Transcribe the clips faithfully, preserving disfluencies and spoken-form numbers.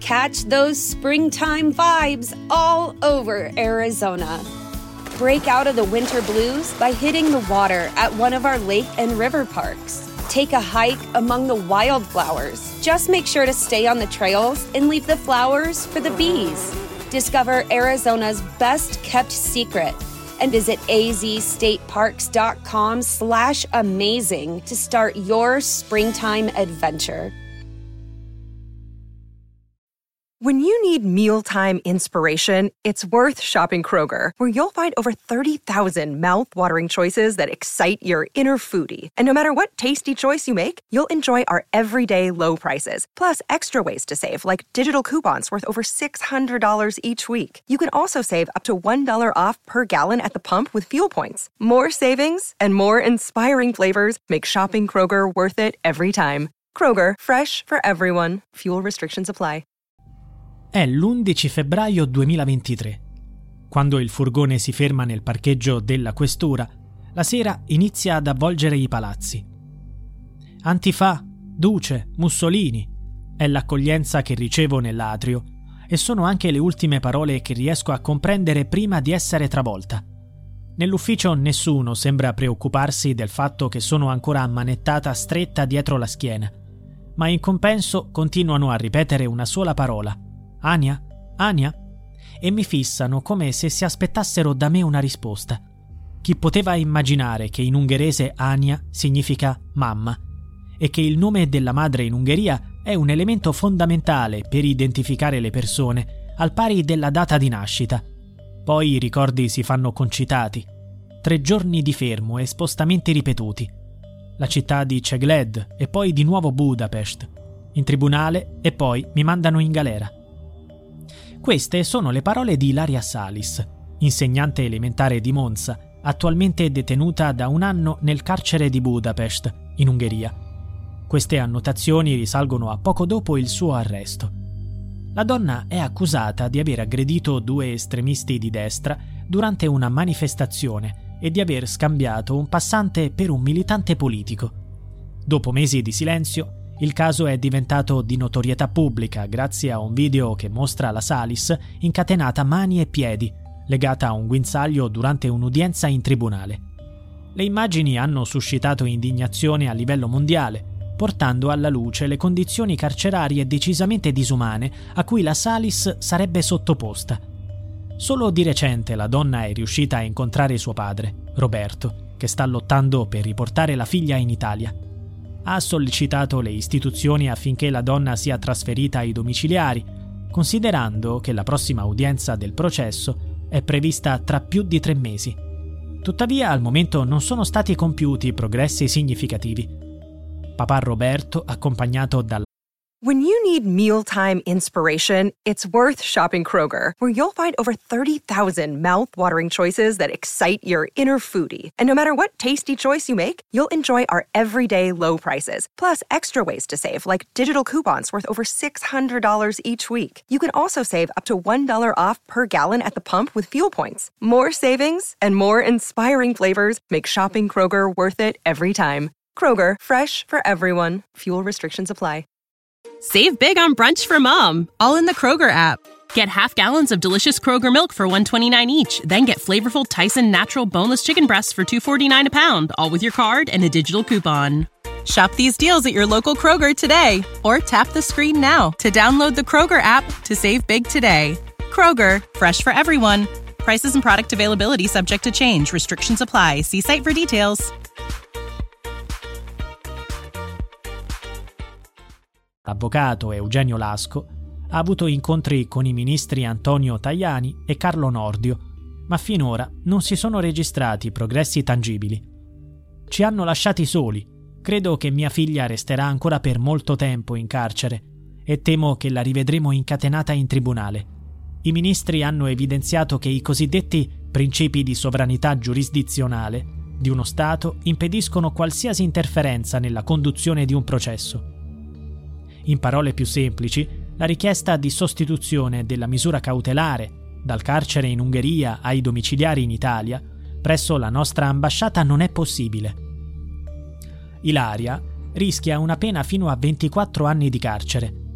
Catch those springtime vibes all over Arizona. Break out of the winter blues by hitting the water at one of our lake and river parks. Take a hike among the wildflowers. Just make sure to stay on the trails and leave the flowers for the bees. Discover Arizona's best-kept secret and visit azstateparks.com slash amazing to start your springtime adventure. When you need mealtime inspiration, it's worth shopping Kroger, where you'll find over thirty thousand mouth-watering choices that excite your inner foodie. And no matter what tasty choice you make, you'll enjoy our everyday low prices, plus extra ways to save, like digital coupons worth over six hundred dollars each week. You can also save up to one dollar off per gallon at the pump with fuel points. More savings and more inspiring flavors make shopping Kroger worth it every time. Kroger, fresh for everyone. Fuel restrictions apply. È l'undici febbraio duemilaventitré. Quando il furgone si ferma nel parcheggio della questura, la sera inizia ad avvolgere i palazzi. Antifa, Duce, Mussolini è l'accoglienza che ricevo nell'atrio e sono anche le ultime parole che riesco a comprendere prima di essere travolta. Nell'ufficio nessuno sembra preoccuparsi del fatto che sono ancora ammanettata stretta dietro la schiena, ma in compenso continuano a ripetere una sola parola: Ania? Ania? E mi fissano come se si aspettassero da me una risposta. Chi poteva immaginare che in ungherese Ania significa mamma e che il nome della madre in Ungheria è un elemento fondamentale per identificare le persone, al pari della data di nascita. Poi i ricordi si fanno concitati. Tre giorni di fermo e spostamenti ripetuti. La città di Cegléd e poi di nuovo Budapest. In tribunale e poi mi mandano in galera. Queste sono le parole di Ilaria Salis, insegnante elementare di Monza, attualmente detenuta da un anno nel carcere di Budapest, in Ungheria. Queste annotazioni risalgono a poco dopo il suo arresto. La donna è accusata di aver aggredito due estremisti di destra durante una manifestazione e di aver scambiato un passante per un militante politico. Dopo mesi di silenzio, il caso è diventato di notorietà pubblica grazie a un video che mostra la Salis incatenata mani e piedi, legata a un guinzaglio durante un'udienza in tribunale. Le immagini hanno suscitato indignazione a livello mondiale, portando alla luce le condizioni carcerarie decisamente disumane a cui la Salis sarebbe sottoposta. Solo di recente la donna è riuscita a incontrare suo padre, Roberto, che sta lottando per riportare la figlia in Italia. Ha sollecitato le istituzioni affinché la donna sia trasferita ai domiciliari, considerando che la prossima udienza del processo è prevista tra più di tre mesi. Tuttavia, al momento non sono stati compiuti progressi significativi. Papà Roberto, accompagnato dalla When you need mealtime inspiration, it's worth shopping Kroger, where you'll find over thirty thousand mouth-watering choices that excite your inner foodie. And no matter what tasty choice you make, you'll enjoy our everyday low prices, plus extra ways to save, like digital coupons worth over six hundred dollars each week. You can also save up to one dollar off per gallon at the pump with fuel points. More savings and more inspiring flavors make shopping Kroger worth it every time. Kroger, fresh for everyone. Fuel restrictions apply. Save big on brunch for mom, all in the Kroger app. Get half gallons of delicious Kroger milk for one dollar and twenty-nine cents each. Then get flavorful Tyson natural boneless chicken breasts for two dollars and forty-nine cents a pound, all with your card and a digital coupon. Shop these deals at your local Kroger today, or tap the screen now to download the Kroger app to save big today. Kroger, fresh for everyone. Prices and product availability subject to change. Restrictions apply. See site for details. L'avvocato Eugenio Lasco ha avuto incontri con i ministri Antonio Tajani e Carlo Nordio, ma finora non si sono registrati progressi tangibili. Ci hanno lasciati soli. Credo che mia figlia resterà ancora per molto tempo in carcere e temo che la rivedremo incatenata in tribunale. I ministri hanno evidenziato che i cosiddetti principi di sovranità giurisdizionale di uno Stato impediscono qualsiasi interferenza nella conduzione di un processo. In parole più semplici, la richiesta di sostituzione della misura cautelare dal carcere in Ungheria ai domiciliari in Italia presso la nostra ambasciata non è possibile. Ilaria rischia una pena fino a ventiquattro anni di carcere,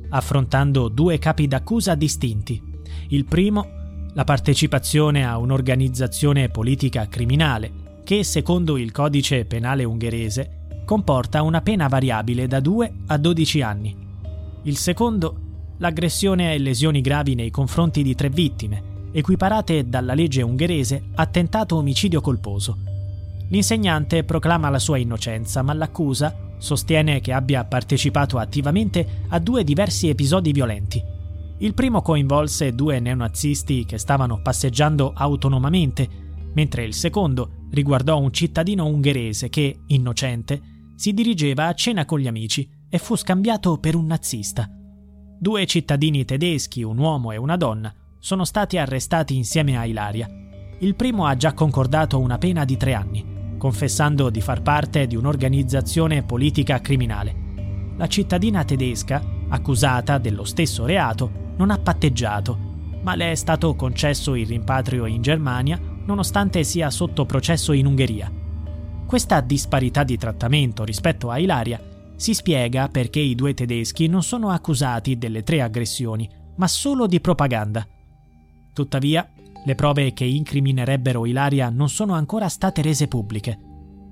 affrontando due capi d'accusa distinti. Il primo, la partecipazione a un'organizzazione politica criminale, che secondo il codice penale ungherese comporta una pena variabile da due a dodici anni. Il secondo, l'aggressione e lesioni gravi nei confronti di tre vittime, equiparate dalla legge ungherese a tentato omicidio colposo. L'insegnante proclama la sua innocenza, ma l'accusa sostiene che abbia partecipato attivamente a due diversi episodi violenti. Il primo coinvolse due neonazisti che stavano passeggiando autonomamente, mentre il secondo riguardò un cittadino ungherese che, innocente, si dirigeva a cena con gli amici e fu scambiato per un nazista. Due cittadini tedeschi, un uomo e una donna, sono stati arrestati insieme a Ilaria. Il primo ha già concordato una pena di tre anni, confessando di far parte di un'organizzazione politica criminale. La cittadina tedesca, accusata dello stesso reato, non ha patteggiato, ma le è stato concesso il rimpatrio in Germania nonostante sia sotto processo in Ungheria. Questa disparità di trattamento rispetto a Ilaria si spiega perché i due tedeschi non sono accusati delle tre aggressioni, ma solo di propaganda. Tuttavia, le prove che incriminerebbero Ilaria non sono ancora state rese pubbliche.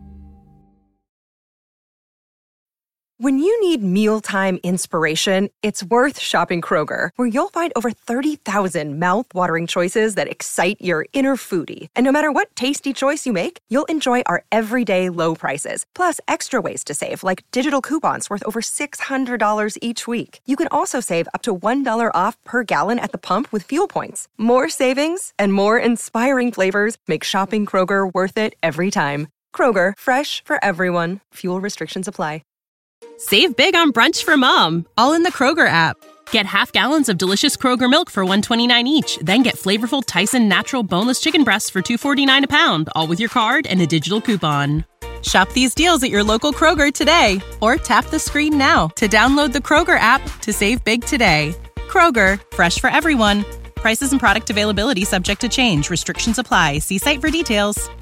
When you need mealtime inspiration, it's worth shopping Kroger, where you'll find over thirty thousand mouth-watering choices that excite your inner foodie. And no matter what tasty choice you make, you'll enjoy our everyday low prices, plus extra ways to save, like digital coupons worth over six hundred dollars each week. You can also save up to one dollar off per gallon at the pump with fuel points. More savings and more inspiring flavors make shopping Kroger worth it every time. Kroger, fresh for everyone. Fuel restrictions apply. Save big on brunch for mom, all in the Kroger app. Get half gallons of delicious Kroger milk for one dollar and twenty-nine cents each. Then get flavorful Tyson natural boneless chicken breasts for two dollars and forty-nine cents a pound, all with your card and a digital coupon. Shop these deals at your local Kroger today, or tap the screen now to download the Kroger app to save big today. Kroger, fresh for everyone. Prices and product availability subject to change. Restrictions apply. See site for details.